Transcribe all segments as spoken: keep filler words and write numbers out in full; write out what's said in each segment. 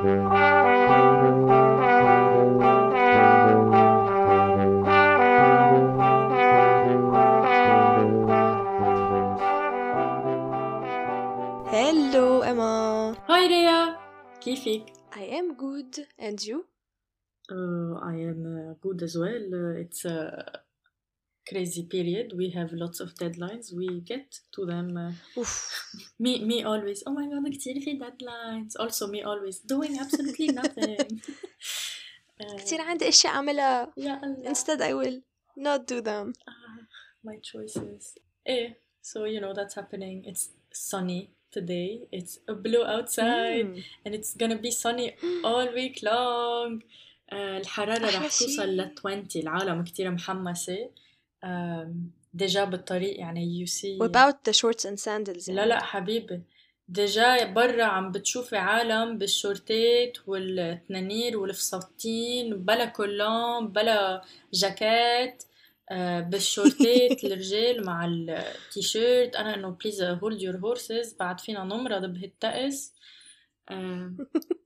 Hello Emma. Hi Rhea, كيفك؟ I am good, and you? Uh, I am uh, good as well. Uh, it's a crazy period. We have lots of deadlines. We get to them. Uh, Oof. me, me always. Oh my god, كتير في deadlines. Also me always doing absolutely nothing. uh, كتير عندي أشياء أعملها. يا الله. Instead I will not do them. Ah, my choices. Eh, so you know that's happening. It's sunny today. It's blue outside, Mm. and it's gonna be sunny all week long. آه، الحرارة أحلى راح توصل شي. ل عشرين. العالم كتير محمسة. آم، ديجا بالطريق يعني you see. What about the shorts and sandals لا يعني؟ لا حبيبي، ديجا برا عم بتشوفي عالم بالشورتات والتنانير والفساتين بلا كولون بلا جاكيت. آه، بالشورتات الرجال مع التيشيرت. انا انه بليز هولد يور هورسز، بعد فينا نمرض بهالطقس. آه،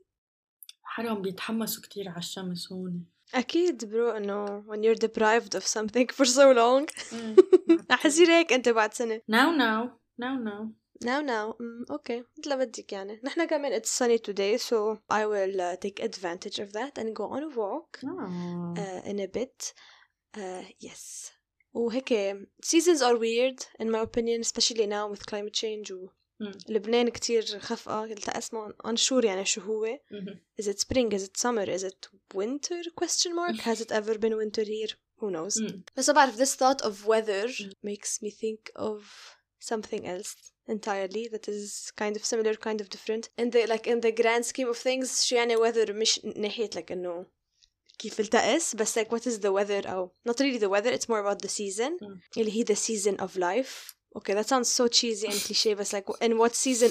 حرام بيتحمسوا كتير على الشمس هون. أكيد برو إنه when you're deprived of something for so long رح يصير هيك أنت بعد سنة. now now now now Now now mm, okay مثل ما بدك يعني. نحنا كمان it's sunny today, so I will uh, take advantage of that and go on a walk oh. uh, in a bit. uh, yes. وهيك seasons are weird in my opinion, especially now with climate change. و mm. لبنان كتير خفقة. قلت اسمع unsure يعني شو هو. mm-hmm. Is it spring? Is it summer? Is it winter? Question mark. Has it ever been winter here? Who knows? mm. بس بعرف this thought of weather mm. makes me think of something else entirely that is kind of similar, kind of different in the like in the grand scheme of things. شو يعني weather مش ناحية like إنه كيف التقس بس like what is the weather أو not really the weather, it's more about the season mm. اللي هي the season of life. Okay, that sounds so cheesy and cliché, but like in what season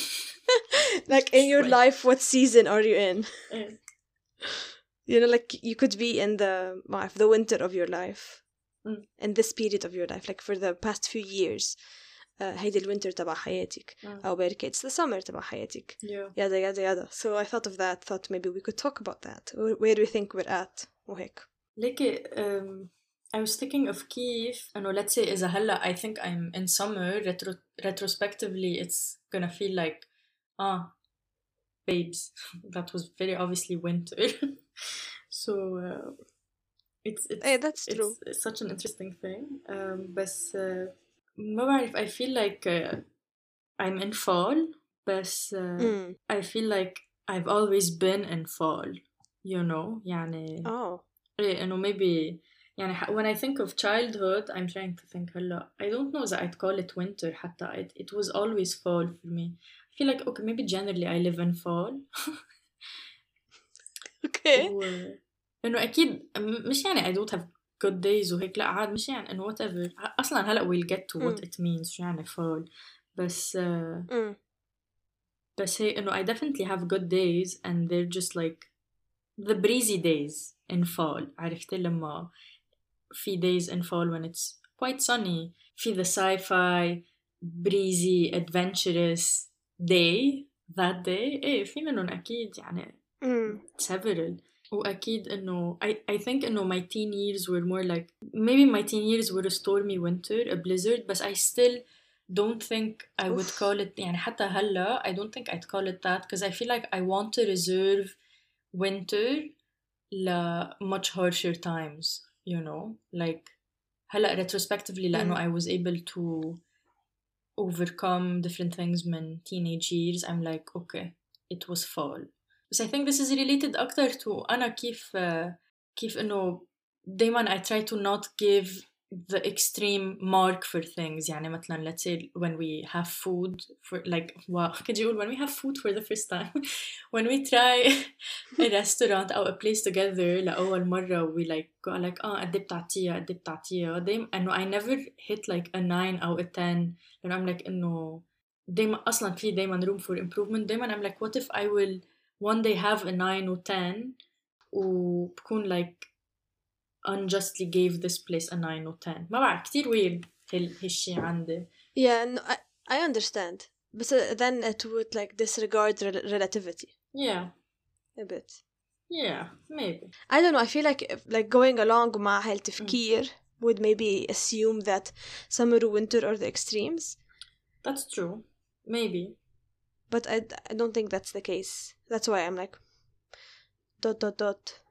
like in your life what season are you in? mm. You know, like you could be in the the winter of your life mm. in this period of your life, like for the past few years. هيدي الوينتر تبع حياتك mm. أو بركة it's the summer تبع حياتك. yeah. يادا يادا يادا. So I thought of that, thought maybe we could talk about that. Where do you think we're at وهيك. ليكي um, I was thinking of كيف إنه let's say إذا هلا I think I'm in summer retro- retrospectively it's gonna feel like ah babes that was very obviously winter. so uh, it's it's, hey, that's it's true. it's such an interesting thing. um, بس uh, ما بعرف I feel like uh, I'm in fall بس uh, mm. I feel like I've always been in fall, you know يعني oh إيه إنه maybe يعني when I think of childhood I'm trying to think هلا I don't know that I'd call it winter حتى it, it was always fall for me. I feel like okay maybe generally I live in fall. okay و إنه أكيد مش يعني I don't have good days وهيك لا عاد مش يعني إنه whatever أصلا هلا we'll get to what mm. it means شو يعني fall بس uh, mm. بس هي إنه I definitely have good days and they're just like the breezy days in fall. عرفتي لما في days in fall when it's quite sunny في the sci-fi breezy adventurous day that day إيه في منهم أكيد يعني mm. several. وأكيد إنه I, I think إنه my teen years were more like maybe my teen years were a stormy winter a blizzard but I still don't think I would Oof. call it يعني حتى هلا I don't think I'd call it that because I feel like I want to reserve winter ل much harsher times, you know, like هلا retrospectively لأنه mm. I was able to overcome different things من teenage years I'm like okay it was fall. But I think this is related أكتر to أنا كيف كيف إنه دايما I try to not give the extreme mark for things. يعني مثلا let's say when we have food for like wow could you when we have food for the first time when we try a restaurant أو a place together لأول مرة we like go like آه قد بتعطيها قد بتعطيها دايما إنه I never hit like a nine أو a ten لأنه I'm like إنه دايما أصلا في دايما room for improvement. دايما I'm like what if I will one day have a nine or ten وبكون like unjustly gave this place a nine or ten. ما بعرف كتير weird هال هالشي عندي. yeah no, I, I understand but uh, then it would like disregard rel- relativity. yeah a bit. Yeah, maybe. I don't know, I feel like like going along مع هالتفكير mm. would maybe assume that summer or winter are the extremes. That's true. Maybe. But I, I don't think that's the case. That's why I'm like dot dot dot.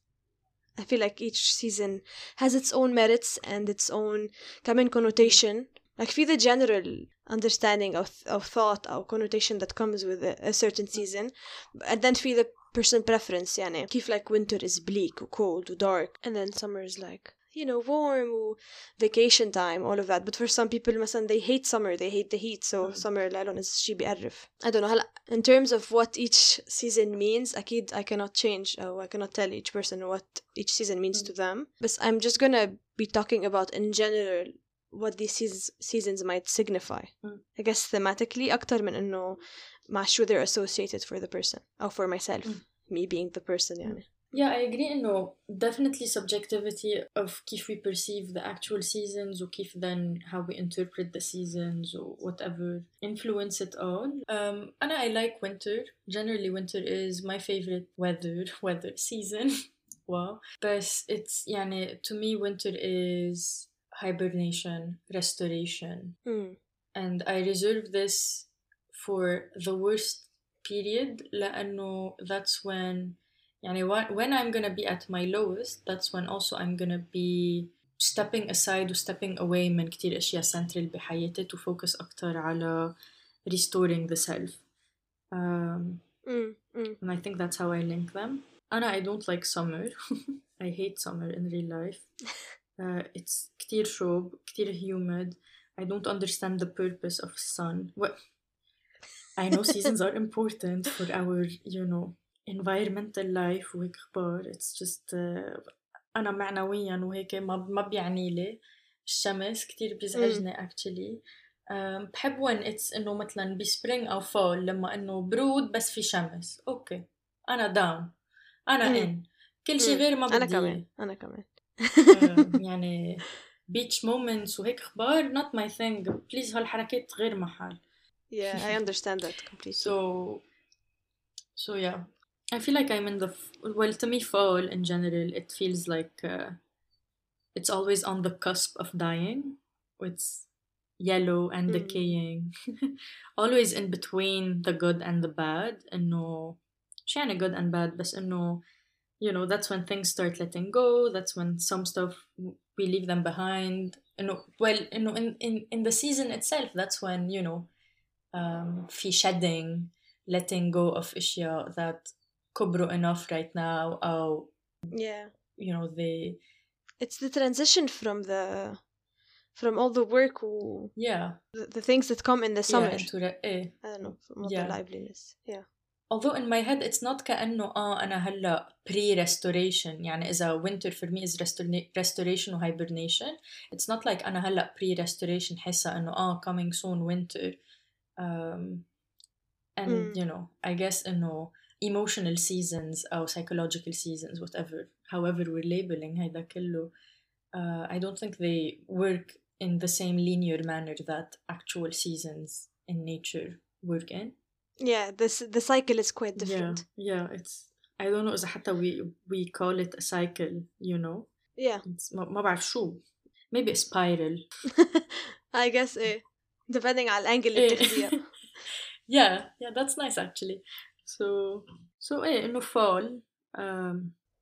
I feel like each season has its own merits and its own common connotation. Mm. Like في the general understanding of of thought or connotation that comes with a, a certain season, and then في the person preference يعني كيف like winter is bleak or cold or dark, and then summer is like, you know, warm or vacation time, all of that. But for some people مثلا they hate summer, they hate the heat, so mm. summer لهم is شي بيقرف. I don't know هلا in terms of what each season means أكيد I cannot change or I cannot tell each person what each season means mm. to them, but I'm just gonna be talking about in general what these seasons, seasons might signify. Mm. I guess thematically أكتر من إنه مع شو they're associated for the person or for myself, mm. me being the person يعني. Yeah, I agree إنه definitely subjectivity of كيف we perceive the actual seasons or كيف then how we interpret the seasons or whatever influence it all. Um, and I like winter. Generally winter is my favorite weather weather season. Wow. But it's يعني to me winter is hibernation, restoration. Mm. And I reserve this for the worst period لأنه that's when يعني when I'm gonna be at my lowest, that's when also I'm gonna be stepping aside و stepping away من كتير أشياء central بحياتي to focus أكتر على restoring the self. Um, mm, mm. And I think that's how I link them. أنا I don't like summer. I hate summer in real life. Uh, it's كتير شوب, كتير humid. I don't understand the purpose of sun. Well, I know seasons are important for our, you know, environmental life وهيك أخبار. It's just uh, أنا معنويا وهيك ما ما بيعني لي الشمس كتير بيزعجني mm. actually. um, بحب when it's إنه مثلا بسبرينغ أو فول لما إنه برود بس في شمس. أوكي أنا down أنا mm. in كل شيء mm. غير ما بدي. أنا كمان أنا كمان. uh, يعني beach moments وهيك أخبار not my thing. please هالحركات غير محل. Yeah, I understand that completely. So, so yeah, I feel like I'm in the well. To me, fall in general, it feels like uh, it's always on the cusp of dying. It's yellow and mm. decaying, always in between the good and the bad. And no, شو يعني good and bad, but no, you know, that's when things start letting go. That's when some stuff we leave them behind. You know, well, you know, in in in the season itself, that's when you know. Um, في shedding, letting go of أشياء that كبروا enough right now أو yeah, you know they it's the transition from the from all the work و yeah the, the things that come in the summer yeah, into the, eh. I don't know from all yeah. the liveliness yeah. Although in my head it's not كأنه آه أنا هلا pre-restoration يعني إذا winter for me is restor- restoration و hibernation, it's not like أنا هلا pre-restoration حاسة إنه آه coming soon winter. Um, and mm. you know, I guess you know, emotional seasons or psychological seasons, whatever, however we're labeling هيدا كله, uh, I don't think they work in the same linear manner that actual seasons in nature work in. Yeah, this the cycle is quite different. Yeah, yeah, it's I don't know إذا حتى we we call it a cycle, you know. Yeah. It's ما ما بعرف شو. Maybe a spiral. I guess eh. Depending على الانجل اللي بتاخديها. yeah yeah that's nice actually. so so eh إنه fall um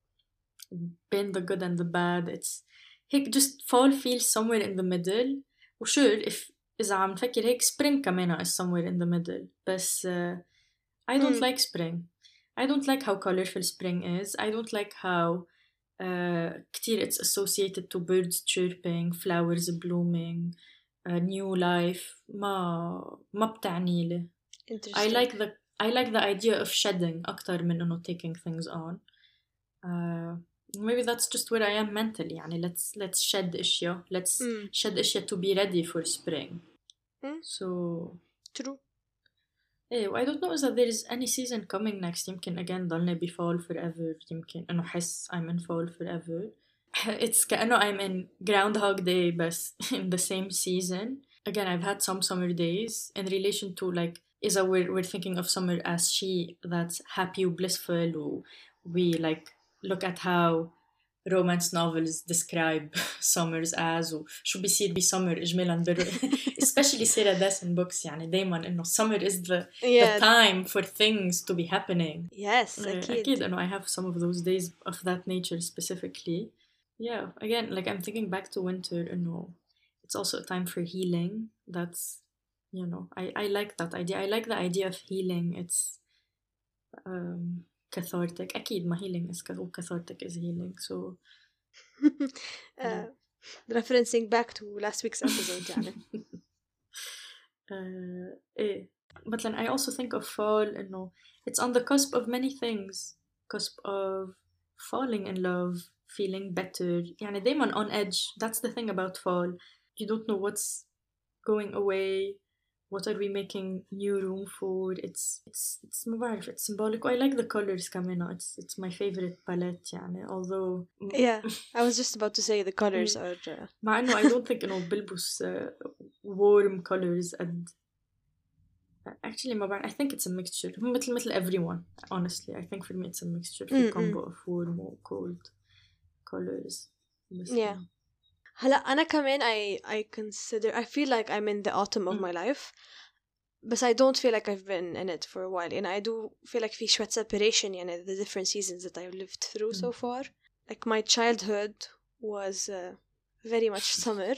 been the good and the bad, it's هيك just fall feels somewhere in the middle. و sure if إذا عم نفكر هيك spring كمان is somewhere in the middle. بس uh, I don't mm. like spring. I don't like how colorful spring is. I don't like how uh, كتير it's associated to birds chirping, flowers blooming, a new life. ما ما بتعني لي. I like the I like the idea of shedding أكتر من إنه taking things on. Uh, maybe that's just where I am mentally. يعني let's let's shed أشياء. Let's mm. shed أشياء to be ready for spring. Mm. So true. Hey, I don't know إذا there is any season coming next. يمكن again ضلني ب fall forever. يمكن إنه حس I'm in fall forever. It's كأنه I'm in Groundhog Day بس in the same season. Again, I've had some summer days in relation to like is that we're, we're thinking of summer as she that's happy and blissful, or we like look at how romance novels describe summers as وشو بيصير بسummer إجمالا بر especially Sarah Dessen books يعني دايما إنه summer is the, Yeah. the time for things to be happening. Yes, Uh, أكيد. أكيد إنه I have some of those days of that nature specifically. Yeah, again, like I'm thinking back to winter, إنه it's also a time for healing. That's, you know, I, I like that idea. I like the idea of healing. It's um, cathartic. أكيد ما healing is cathartic is healing. So uh, referencing back to last week's episode يعني. uh, إيه. But then I also think of fall إنه it's on the cusp of many things. Cusp of falling in love, feeling better. يعني دايما on edge. That's the thing about fall. You don't know what's going away. What are we making new room for? It's it's it's ما بعرف, it's symbolic. I like the colors كمان. It's it's my favorite palette يعني. Although yeah, I was just about to say the colors are. Uh... مع إنه I don't think إنه بلبس uh, warm colors and actually ما بعرف. I think it's a mixture. مثل مثل everyone. Honestly, I think for me it's a mixture. في combo of warm or cold colors. Yeah. هلا أنا كمان I I consider I feel like I'm in the autumn of mm. my life, but I don't feel like I've been in it for a while, and I do feel like في شوية separation يعني the different seasons that I've lived through mm. so far. Like my childhood was uh, very much summer.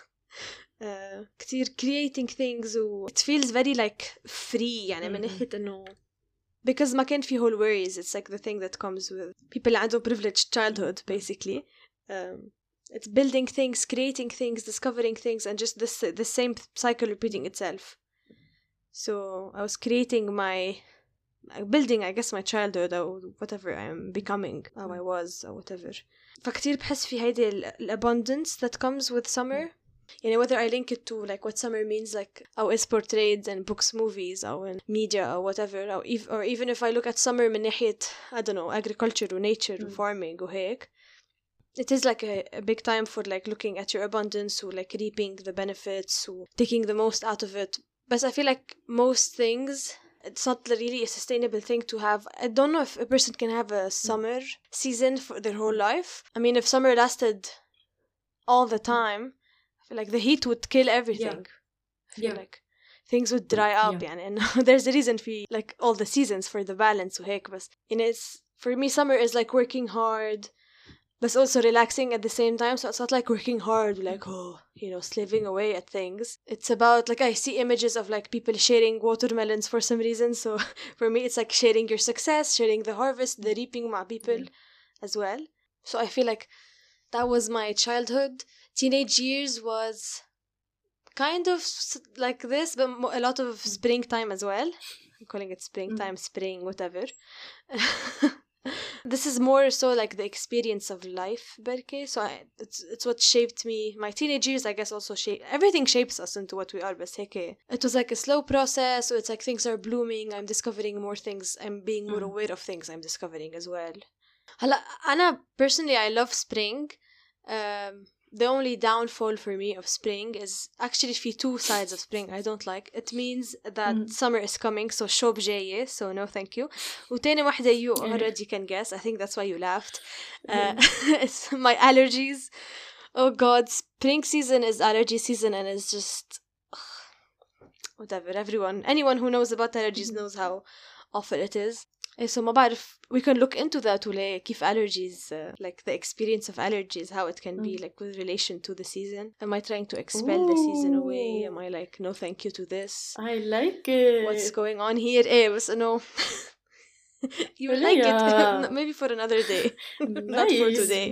uh, كتير creating things و it feels very like free يعني mm-hmm. من ناحية إنه because ما كان في whole worries. It's like the thing that comes with people اللي عندهم privileged childhood basically. Um, It's building things, creating things, discovering things, and just this the same cycle repeating itself. So I was creating my, building I guess my childhood or whatever I'm becoming, how I was or whatever. فكتير بحس في هيدي الabundance that comes with summer. You know, whether I link it to like what summer means, like how it's portrayed in books, movies, or in media or whatever, or, if, or even if I look at summer من ناحية, I don't know, agriculture or nature or farming or هيك. It is like a, a big time for like looking at your abundance or like reaping the benefits or taking the most out of it. But I feel like most things, it's not really a sustainable thing to have. I don't know if a person can have a summer season for their whole life. I mean, if summer lasted all the time, I feel like the heat would kill everything. Yeah. I feel yeah. like things would dry up. Yeah. And there's a reason for like all the seasons for the balance. But you know, it's, for me, summer is like working hard, but also relaxing at the same time. So it's not like working hard, like, oh, you know, slaving away at things. It's about, like, I see images of, like, people sharing watermelons for some reason. So for me, it's like sharing your success, sharing the harvest, the reaping with people yeah. as well. So I feel like that was my childhood. Teenage years was kind of like this, but a lot of springtime as well. I'm calling it springtime, mm. spring, whatever. This is more so like the experience of life, Berke. So I, it's it's what shaped me. My teenage years, I guess, also shape everything shapes us into what we are. But it was like a slow process. So it's like things are blooming. I'm discovering more things. I'm being more mm. aware of things I'm discovering as well. Hala, Anna personally, I love spring. Um, the only downfall for me of spring is actually في two sides of spring I don't like. It means that mm. summer is coming, so شوب جاية, so no thank you. وتاني واحدة you already can guess. I think that's why you laughed. Uh, it's my allergies. Oh god, spring season is allergy season, and it's just ugh, whatever. Everyone, anyone who knows about allergies knows how awful it is. So ما بعرف, we can look into that ولا كيف allergies, uh, like the experience of allergies, how it can be like with relation to the season. Am I trying to expel Ooh. the season away? Am I like, no thank you to this? I like it. What's going on here? Eh, but no. You will like yeah. it. Maybe for another day. Not for today.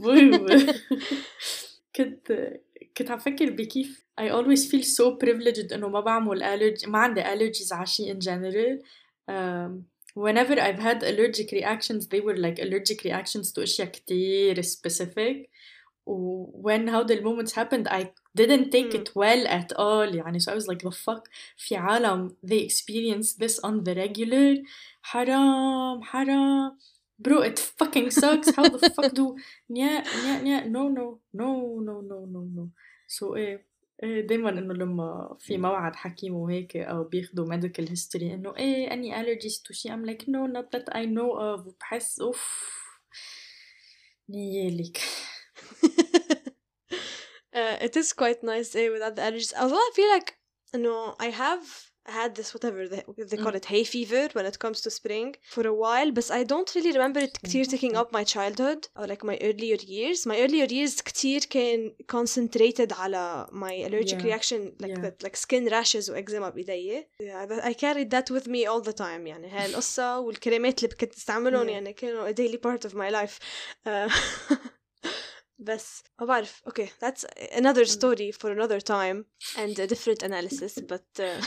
كنت كنت عم فكر بكيف I always feel so privileged إنه ما بعمل allergy, ما عندي allergies عشي in general. Um, Whenever I've had allergic reactions, they were like allergic reactions to أشياء كتير specific. When how the moments happened, I didn't take mm. it well at all. يعني, so I was like, the fuck? في عالم, they experience this on the regular. حرام, حرام. Bro, it fucking sucks. How the fuck do... Yeah, yeah, yeah. No, no, no, no, no, no, no. So, eh, إيه دايما انه لما في موعد حكيم وهيك او بياخدوا medical history انه ايه any allergies to شي I'm like no not that I know of وبحس اوف نيالك. uh, it is quite nice eh, without the allergies. Although I feel like no, I have had this whatever they, they call Mm. it hay fever when it comes to spring for a while, but I don't really remember it كتير taking up my childhood or like my earlier years. My earlier years كتير كان concentrated على my allergic Yeah. reaction like Yeah. that like skin rashes وeczema بإيدي. Yeah, that- I carried that with me all the time. يعني هاي القصة والكريمات اللي كنت استعملهم Yeah. يعني كانوا a daily part of my life. Uh, بس ما بعرف okay that's another story for another time and a different analysis but uh,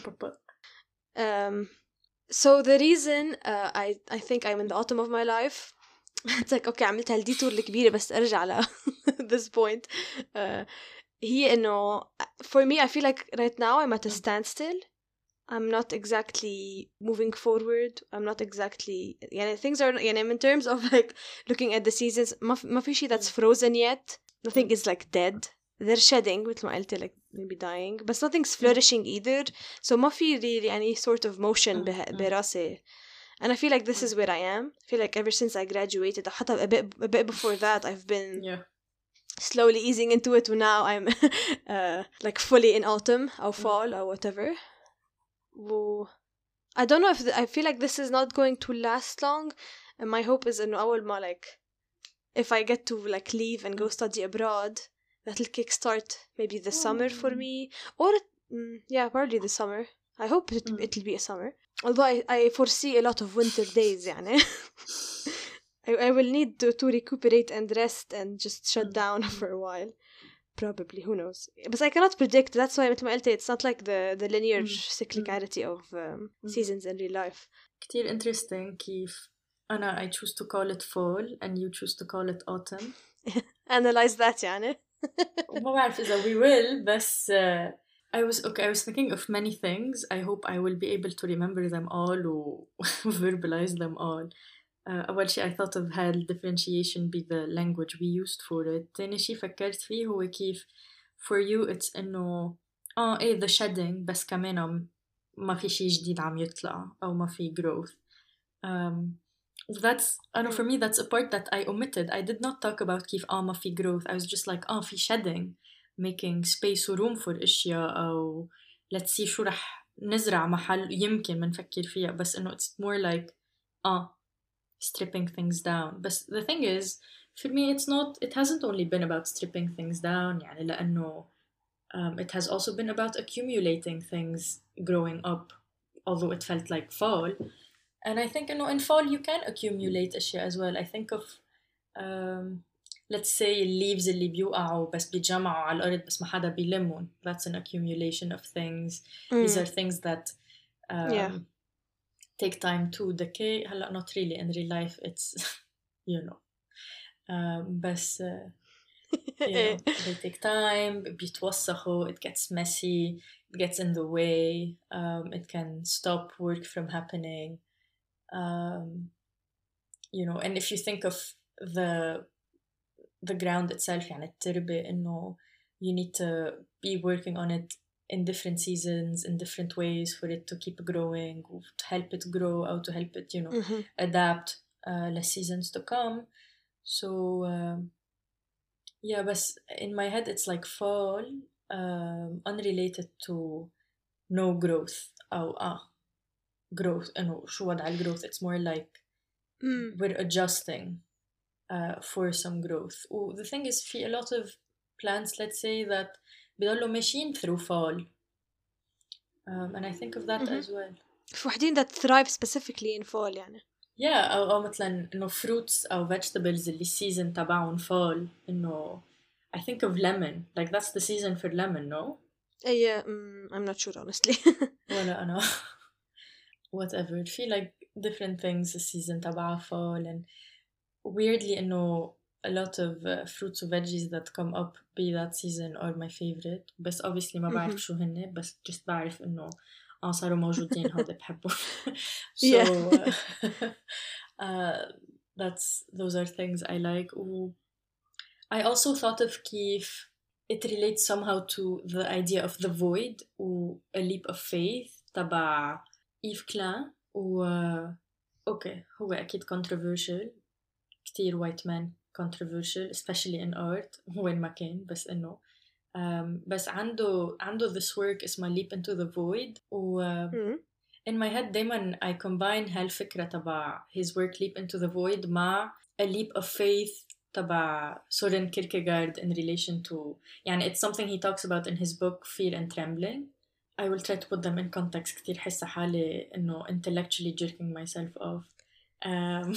um so the reason uh, I I think I'm in the autumn of my life it's like okay عملت هالديتور الكبيرة بس أرجع ل this point uh, هي إنه for me I feel like right now I'm at a standstill. I'm not exactly moving forward. I'm not exactly يعني things are يعني in terms of like looking at the seasons ما ما في شيء that's frozen yet. Nothing is like dead. They're shedding مثل ما قلت like maybe dying but nothing's flourishing either. So ما في really any sort of motion به- براسي. And I feel like this is where I am. I feel like ever since I graduated حتى a bit, a bit before that I've been yeah. slowly easing into it and now I'm uh, like fully in autumn or fall or whatever. Well, I don't know if the, I feel like this is not going to last long and my hope is إنه أول ما like if I get to like leave and go study abroad that'll kickstart maybe the summer for me or mm, yeah probably the summer. I hope it, it'll be a summer although I, I foresee a lot of winter days يعني I, I will need to, to recuperate and rest and just shut down for a while probably who knows but I cannot predict that's why مثل ما قلت it's not like the the linear cyclicality of um, seasons in real life. كتير interesting كيف أنا I choose to call it fall and you choose to call it autumn. Analyze that يعني. وما بعرف إذا we will بس uh, I was okay I was thinking of many things. I hope I will be able to remember them all و verbalize them all. Uh, أول شيء I thought of هال differentiation be the language we used for it. تاني شيء فكرت فيه هو كيف for you it's إنه آه إيه the shedding بس كمان ما في شيء جديد عم يطلع أو ما في growth. Um, that's I know for me that's a part that I omitted. I did not talk about كيف آه ما في growth. I was just like آه في shedding, making space و room for أشياء أو let's see شو رح نزرع محل يمكن منفكر فيها بس إنه it's more like آه stripping things down. But the thing is for me it's not it hasn't only been about stripping things down يعني لأنه um, it has also been about accumulating things growing up although it felt like fall. And I think you know, in fall you can accumulate أشياء as well. I think of um, let's say leaves اللي بيوقعوا بس بيتجمعوا على الأرض بس ما حدا بيلمهم. That's an accumulation of things. Mm. These are things that um, yeah. take time to decay. هلا not really in real life it's you know um, بس uh, you know they take time بيتوسخوا it gets messy it gets in the way um, it can stop work from happening. Um, you know, and if you think of the the ground itself, يعني التربة إنه you need to be working on it in different seasons, in different ways for it to keep growing, to help it grow, or to help it, you know, mm-hmm. adapt uh, the seasons to come. So um, yeah, but in my head it's like fall, um, unrelated to no growth. أو ah. growth إنه شو وضع الgrowth it's more like mm. we're adjusting uh, for some growth. و the thing is في a lot of plants let's say that بيضلوا ماشيين through fall um, and I think of that mm-hmm. as well. في وحدين that thrive specifically in fall يعني yeah أو, أو مثلا إنه fruits أو vegetables اللي season تبعهم fall إنه I think of lemon like that's the season for lemon no? yeah um, I'm not sure honestly. ولا أنا whatever feel like different things the season تبعها fall and weirdly إنه a lot of uh, fruits and veggies that come up be that season are my favorite بس obviously ما بعرف شو هن بس just بعرف إنه آه صاروا موجودين هذا بحبهم so uh, uh, that's those are things I like و I also thought of كيف it relates somehow to the idea of the void و a leap of faith تبع إيف كلان و أوكي هو أكيد controversial كتير white man controversial especially in art وين ما كان بس إنه um, بس عنده عنده this work اسمه leap into the void و mm. in my head دايما I combine هالفكرة تبع his work leap into the void مع a leap of faith تبع سورين كيركيغارد in relation to يعني it's something he talks about in his book Fear and Trembling. I will try to put them in context كتير حاسة حالي إنه intellectually jerking myself off. Um,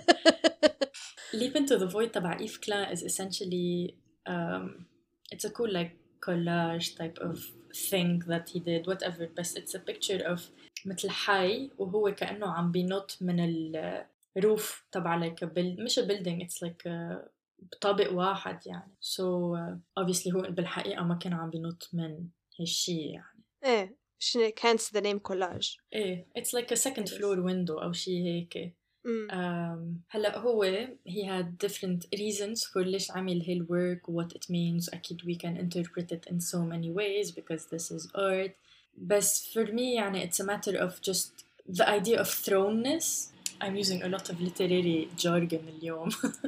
Leap into the void تبع إيف كلان is essentially um, it's a cool like collage type of thing that he did whatever بس it's a picture of مثل حي وهو كأنه عم بينط من ال roof تبع like a build مش a building it's like a طابق واحد يعني so uh, obviously هو بالحقيقة ما كان عم بينط من هالشي يعني إيه شنو hence the name collage إيه it's like a second floor window أو شي هيك mm. um, هلأ هو he had different reasons for ليش عمل هالwork what it means أكيد we can interpret it in so many ways because this is art بس for me يعني it's a matter of just the idea of thrownness. I'm using a lot of literary jargon اليوم.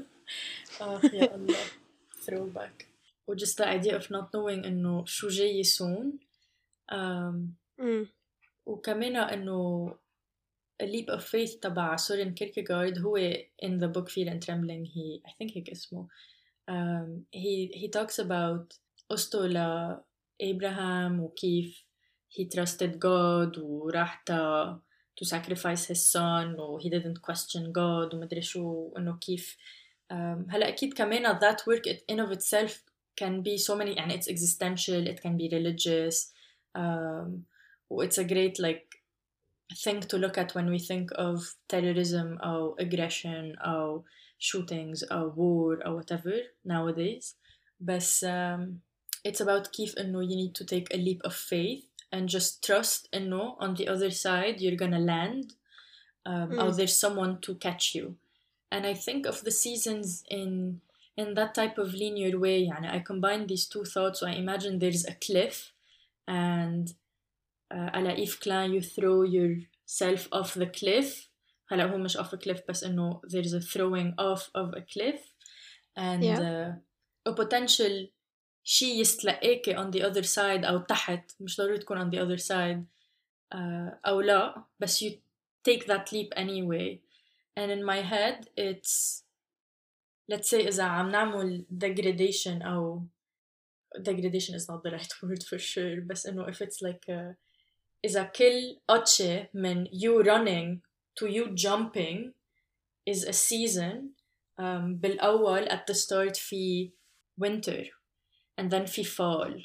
آخ يا الله throwback و just the idea of not knowing إنه شو جاي يسون um, mm. وكمان إنه a leap of faith تبع سورين كيركيغارد هو in the book Fear and Trembling he I think هيك اسمه um, he he talks about قصته لإبراهام وكيف he trusted God وراح تا to sacrifice his son و he didn't question God ومدري شو إنه كيف um, هلا أكيد كمان that work it, in of itself can be so many يعني it's existential it can be religious um, it's a great like thing to look at when we think of terrorism or aggression or shootings or war or whatever nowadays but um, it's about كيف إنه you need to take a leap of faith and just trust إنه on the other side you're gonna land um, mm. or there's someone to catch you and I think of the seasons in in that type of linear way يعني I combine these two thoughts so I imagine there's a cliff and uh, على إيف كلان you throw yourself off the cliff هلا هو مش off a cliff بس إنه there's a throwing off of a cliff and yeah. uh, a potential شي يستلقيكي on the other side أو تحت مش ضروري تكون on the other side uh, أو لا بس you take that leap anyway and in my head it's let's say إذا عم نعمل degradation أو degradation is not the right word for sure بس إنه if it's like a, إذا كل قطشة من you running to you jumping is a season um, بالأول at the start في winter and then في fall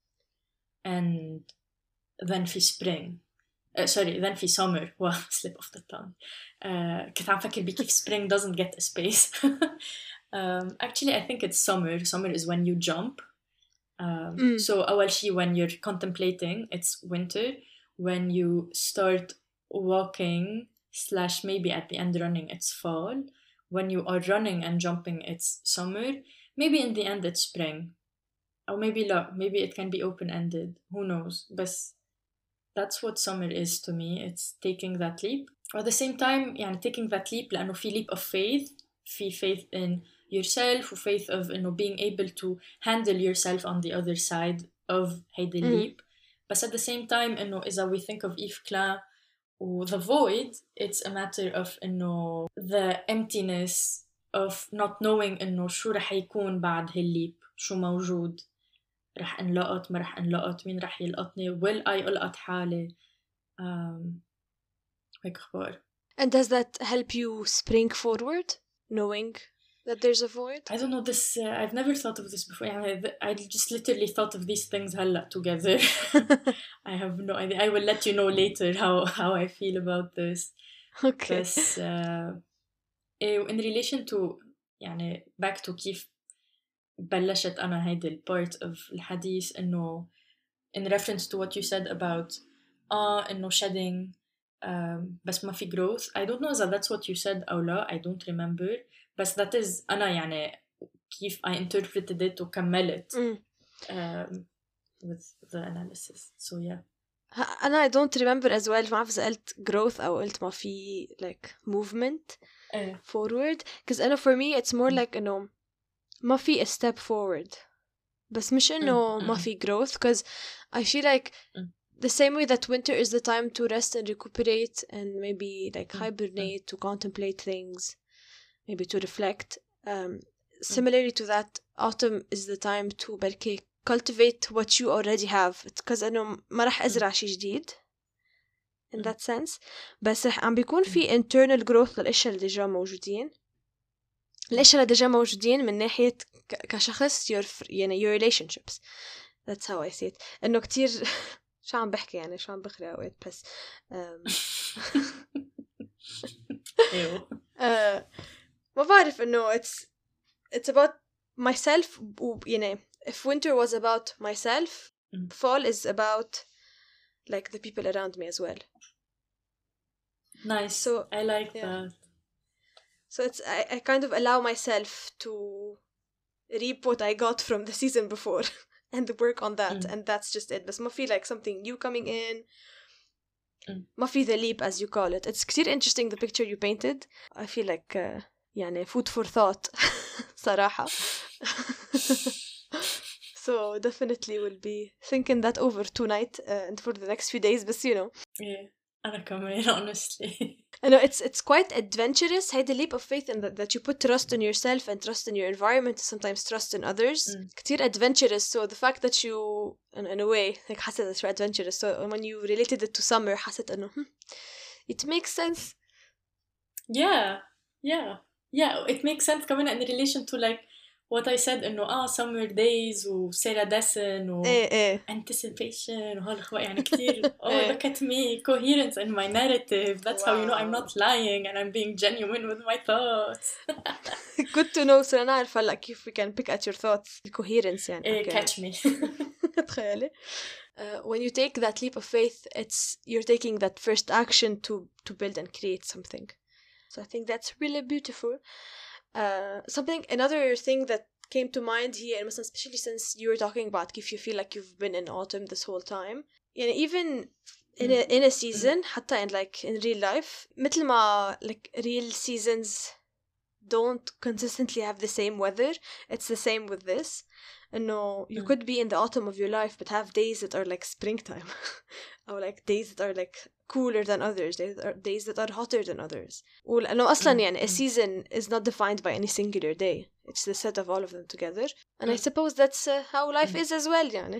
and then في spring uh, sorry then في summer wow slip of the tongue uh, كنت عم فكر بكيف spring doesn't get a space um, actually I think it's summer summer is when you jump um, mm. so أول شي when you're contemplating it's winter when you start walking slash maybe at the end running it's fall when you are running and jumping it's summer maybe in the end it's spring or maybe لا maybe it can be open-ended who knows but that's what summer is to me it's taking that leap at the same time يعني taking that leap لأنه في leap of faith في faith in yourself و faith of إنه being able to handle yourself on the other side of هيدي mm. leap but at the same time إنه إذا we think of Yves Klein و the void it's a matter of إنه the emptiness of not knowing إنه شو رح يكون بعد هالليب شو موجود رح انلقط ما رح انلقط مين رح يلقطني will I ألقط حالي um, هيك أخبار. And does that help you spring forward knowing that there's a void? I don't know this uh, I've never thought of this before يعني I just literally thought of these things هلا together. I have no idea I will let you know later how, how I feel about this. Okay. بس uh, in relation to يعني back to كيف بلشت أنا هيدي ال part of الحديث إنه in reference to what you said about آه إنه shedding um, بس ما في growth I don't know if that's what you said أو لا I don't remember بس that is أنا يعني كيف I interpreted it وكملت mm. um, with the analysis. So yeah. أنا I don't remember as well. ما عارف إذا قلت growth أو قلت ما في like movement uh, forward. Because أنا for me it's more mm. like إنه ما في a step forward. بس مش إنه mm, ما mm, في growth. Because I feel like mm. the same way that winter is the time to rest and recuperate and maybe like Mm, hibernate, mm. to contemplate things, maybe to reflect. Um, similarly to that, autumn is the time to بركي cultivate what you already have. Because أنه ما رح أزرع شيء جديد in that sense. بس رح عم بيكون في internal growth للأشياء اللي ديجا موجودين. الأشياء اللي ديجا موجودين من ناحية كشخص your يعني your relationships. That's how I see it. إنه كتير شو عم بحكي يعني شو عم بخري أوقات بس ايوه ما بعرف إنه it's it's about myself يعني if winter was about myself mm. fall is about like the people around me as well. Nice. So I like yeah. that. So it's I, I kind of allow myself to reap what I got from the season before and work on that mm. and that's just it. But ما feel like something new coming in. mm. ما في the leap as you call it. It's كتير interesting the picture you painted. I feel like uh, يعني food for thought صراحة. So definitely will be thinking that over tonight uh, and for the next few days. But you know, yeah, أنا كمان honestly. I know it's it's quite adventurous. Had the leap of faith in that, that you put trust in yourself and trust in your environment, sometimes trust in others. Mm. كتير adventurous. So the fact that you, in, in a way, like حسيت it's adventurous. So when you related it to summer, حسيت إنه hmm, it makes sense. Yeah, yeah, yeah. It makes sense كمان in relation to like what I said إنه آه summer days و Sarah Dessen و إيه إيه. anticipation وهالأخوة يعني كتير oh look at me coherence in my narrative. That's wow. how you know I'm not lying and I'm being genuine with my thoughts. Good to know. So أنا عارفة هلا كيف we can pick at your thoughts. Coherence يعني. إيه, okay. catch me. تخيلي. Uh, when you take that leap of faith, it's you're taking that first action to to build and create something. So I think that's really beautiful. Uh, something another thing that came to mind here, and especially since you were talking about if you feel like you've been in autumn this whole time, and even in a in a season, حتى in like in real life, مثل ما like real seasons don't consistently have the same weather. It's the same with this. No, you mm. could be in the autumn of your life but have days that are like springtime or like days that are like cooler than others, days that are, days that are hotter than others. ولأنه أصلا يعني a season is not defined by any singular day. It's the set of all of them together. And mm. I suppose that's uh, how life mm. is as well يعني.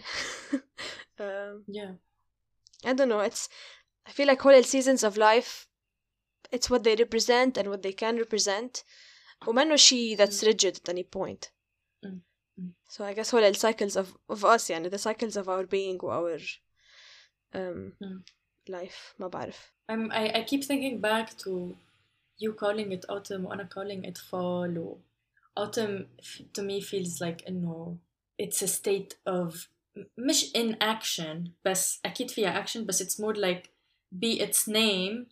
um, yeah. I don't know, it's I feel like whole seasons of life, it's what they represent and what they can represent. ومنه شيء that's mm. rigid at any point. Mm. So I guess whole cycles of, of us يعني the cycles of our being or our um, mm. life ما بعرف. I'm, I, I keep thinking back to you calling it autumn وأنا calling it fall. و autumn to me feels like إنه it's a state of مش inaction بس أكيد فيها action بس it's more like be its name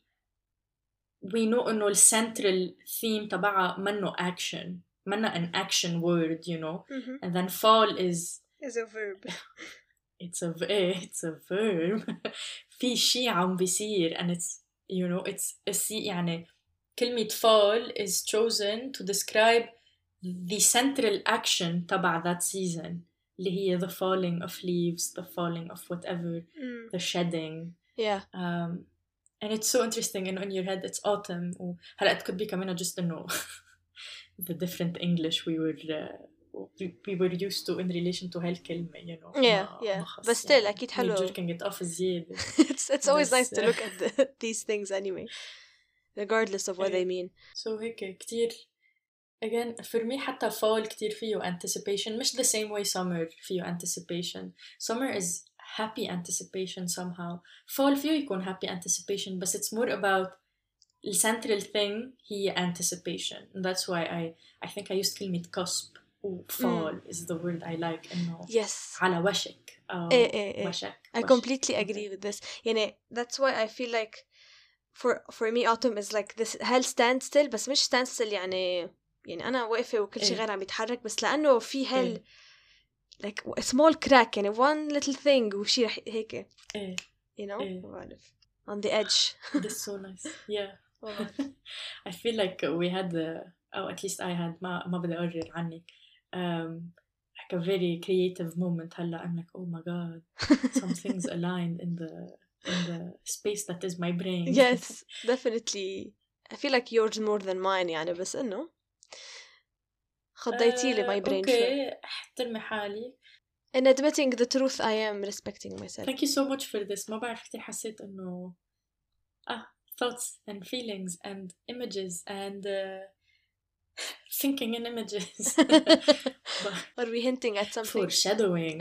we know إنه ال central theme تبعها منه action منه an action word you know mm-hmm. and then fall is is a verb it's a it's a verb في شيء عم بيصير and it's you know it's a يعني كلمة fall is chosen to describe the central action تبع that season اللي هي the falling of leaves the falling of whatever mm. the shedding yeah um and it's so interesting and in your head it's autumn وهلا it could be كمان just إنه the different English we were uh, we were used to in relation to هالكلمة you know yeah yeah but still يعني أكيد حلو jerking it off زيادة it's it's always nice to look at the, these things anyway regardless of what they mean so هيك كتير again for me حتى fall كتير فيه anticipation مش the same way summer فيه anticipation summer is happy anticipation somehow fall فيه يكون happy anticipation but it's more about the central thing هي anticipation and that's why I I think I used كلمة cusp و fall mm. is the word I like إنه yes على وشك أو إيه إيه إيه. وشك I وشك. completely agree with this يعني that's why I feel like for for me autumn is like this هل stand still بس مش stand still يعني يعني أنا واقفة وكل شيء غير عم يتحرك بس لأنه في هل إيه. like a small crack يعني one little thing وشي رح هيك إيه you know إيه. ما بعرف on the edge. That's so nice. Yeah. I feel like we had the, or at least I had, ما ما بدي أقرر عنك, um, like a very creative moment. هلا I'm like, oh my god, some things aligned in the in the space that is my brain. Yes, definitely. I feel like yours more than mine يعني, بس إنه خضيتي لي my brain شوي. Okay, احترمي حالي. In admitting the truth, I am respecting myself. Thank you so much for this. ما بعرف كتير حسيت إنه ah thoughts and feelings and images and uh, thinking in images. Are we hinting at something? Foreshadowing.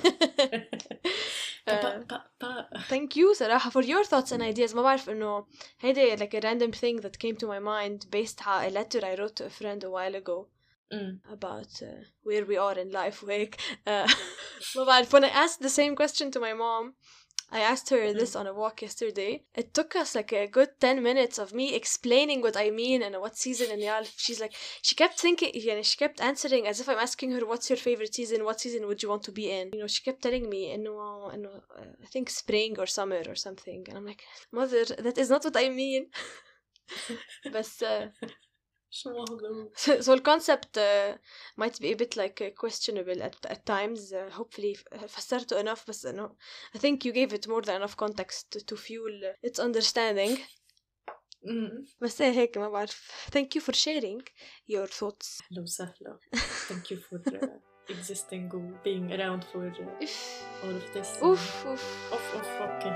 uh, thank you صراحة for your thoughts and ideas. ما بعرف إنه هيدا like a random thing that came to my mind based on a letter I wrote to a friend a while ago. Mm. about uh, where we are in life وهيك. uh, ما بعرف when I asked the same question to my mom, I asked her this on a walk yesterday. It took us like a good ten minutes of me explaining what I mean and what season and y'all. She's like, she kept thinking, yeah, she kept answering as if I'm asking her, what's your favorite season? What season would you want to be in? You know, she kept telling me, no, no, uh, I think spring or summer or something. And I'm like, mother, that is not what I mean. But uh, so, so the concept uh, might be a bit like uh, questionable at, at times. Uh, hopefully فسرته enough, but uh, no, I think you gave it more than enough context to, to fuel uh, its understanding. Mm. بس إيه هيك ما بعرف. Thank you for sharing your thoughts. Hello سهلا. Thank you for uh, existing or being around for uh, all of this. Oof, oof. Oof, oof, okay.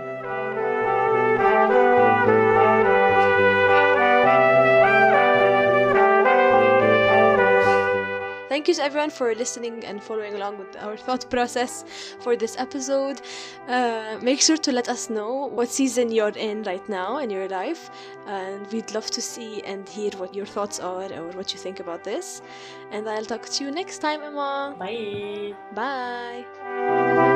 Thank you to everyone for listening and following along with our thought process for this episode. Uh, make sure to let us know what season you're in right now in your life, and we'd love to see and hear what your thoughts are or what you think about this. And I'll talk to you next time, Emma. Bye. Bye.